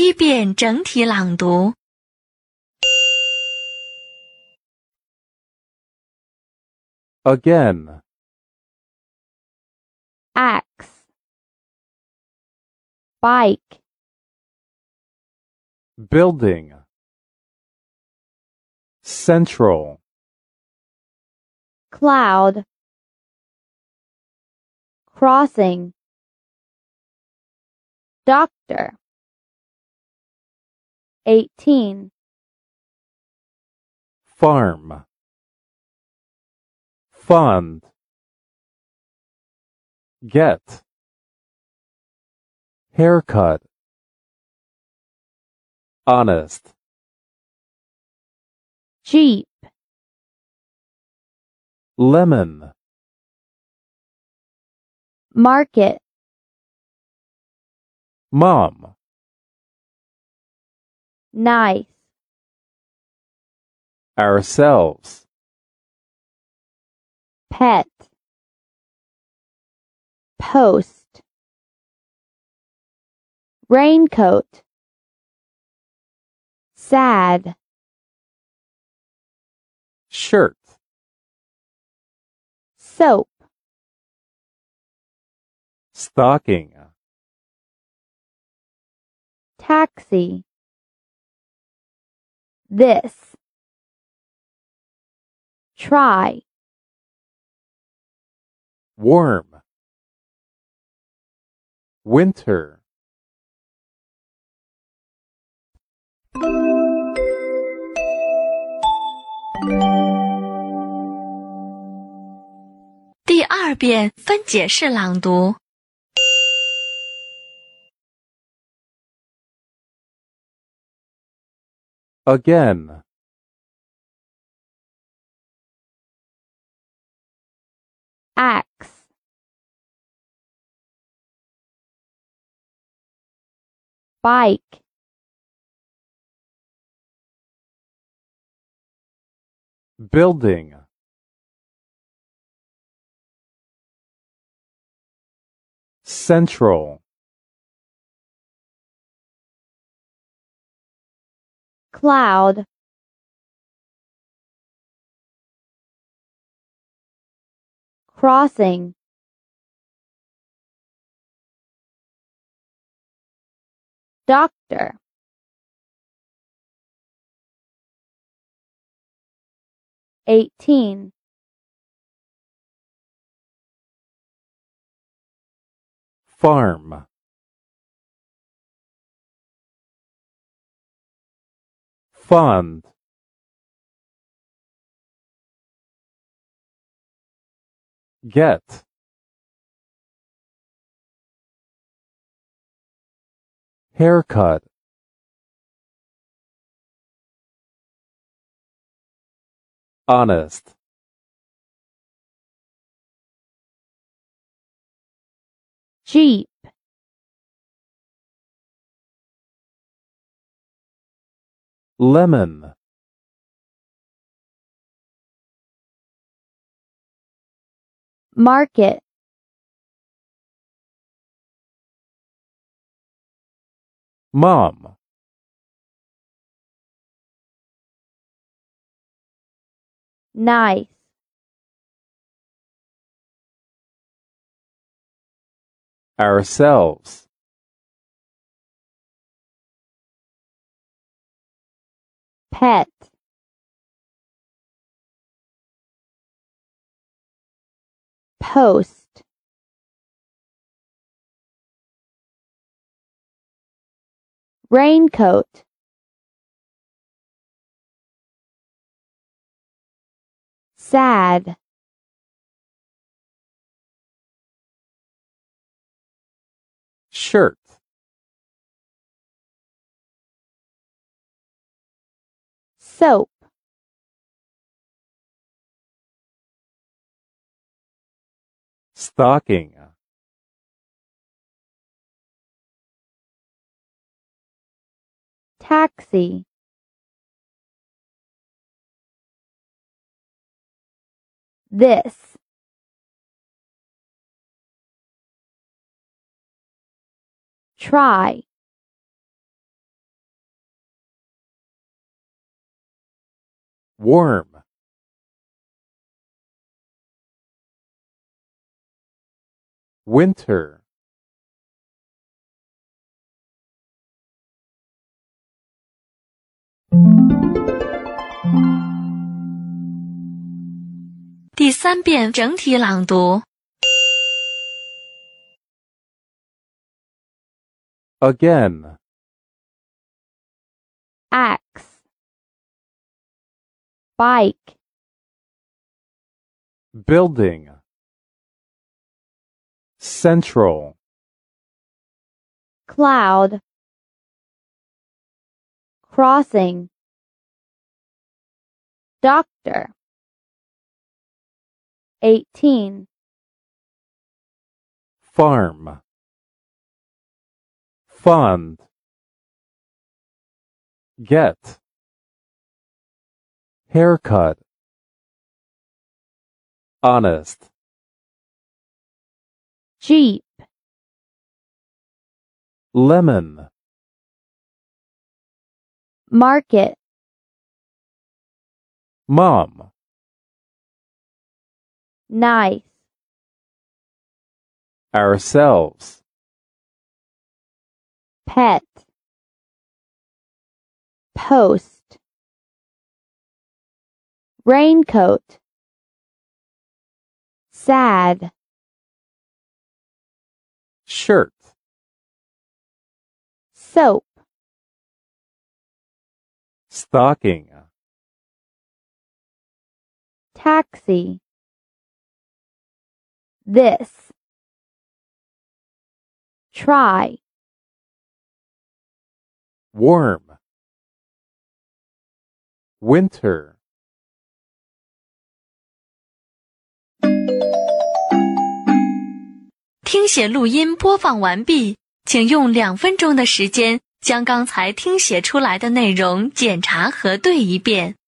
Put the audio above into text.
第一遍整体朗读。 Again. Axe, bike, Building. Central. cloud, crossing, doctor. 18. Farm. Fund. Get. Haircut. Honest. Jeep, Lemon. market, Mom. nice, Ourselves. pet, post, raincoat, sad, Shirt. soap, Stocking. taxi, this, try, Worm. Winter. 第二遍分解式朗读。 Again. axe, bike, Building. Central. cloud, crossing, doctor. 18. Farm. Fund. Get. Haircut. Honest. Jeep, Lemon. market, Mom. nice, Ourselves. pet, post, raincoat, sad, Shirt. soap, Stocking. taxi, this, try, warm, winter, 第3遍整体朗读。 again, axe, bike, building, central, cloud, crossing, doctor, 18, farm, fund, get, haircut, honest, jeep, lemon, market, mom, nice, ourselves, pet, post, raincoat, sad, shirt, soap, stocking, taxi, this, try, warm, winter, 听写录音播放完毕，请用2分钟的时间将刚才听写出来的内容检查核对一遍。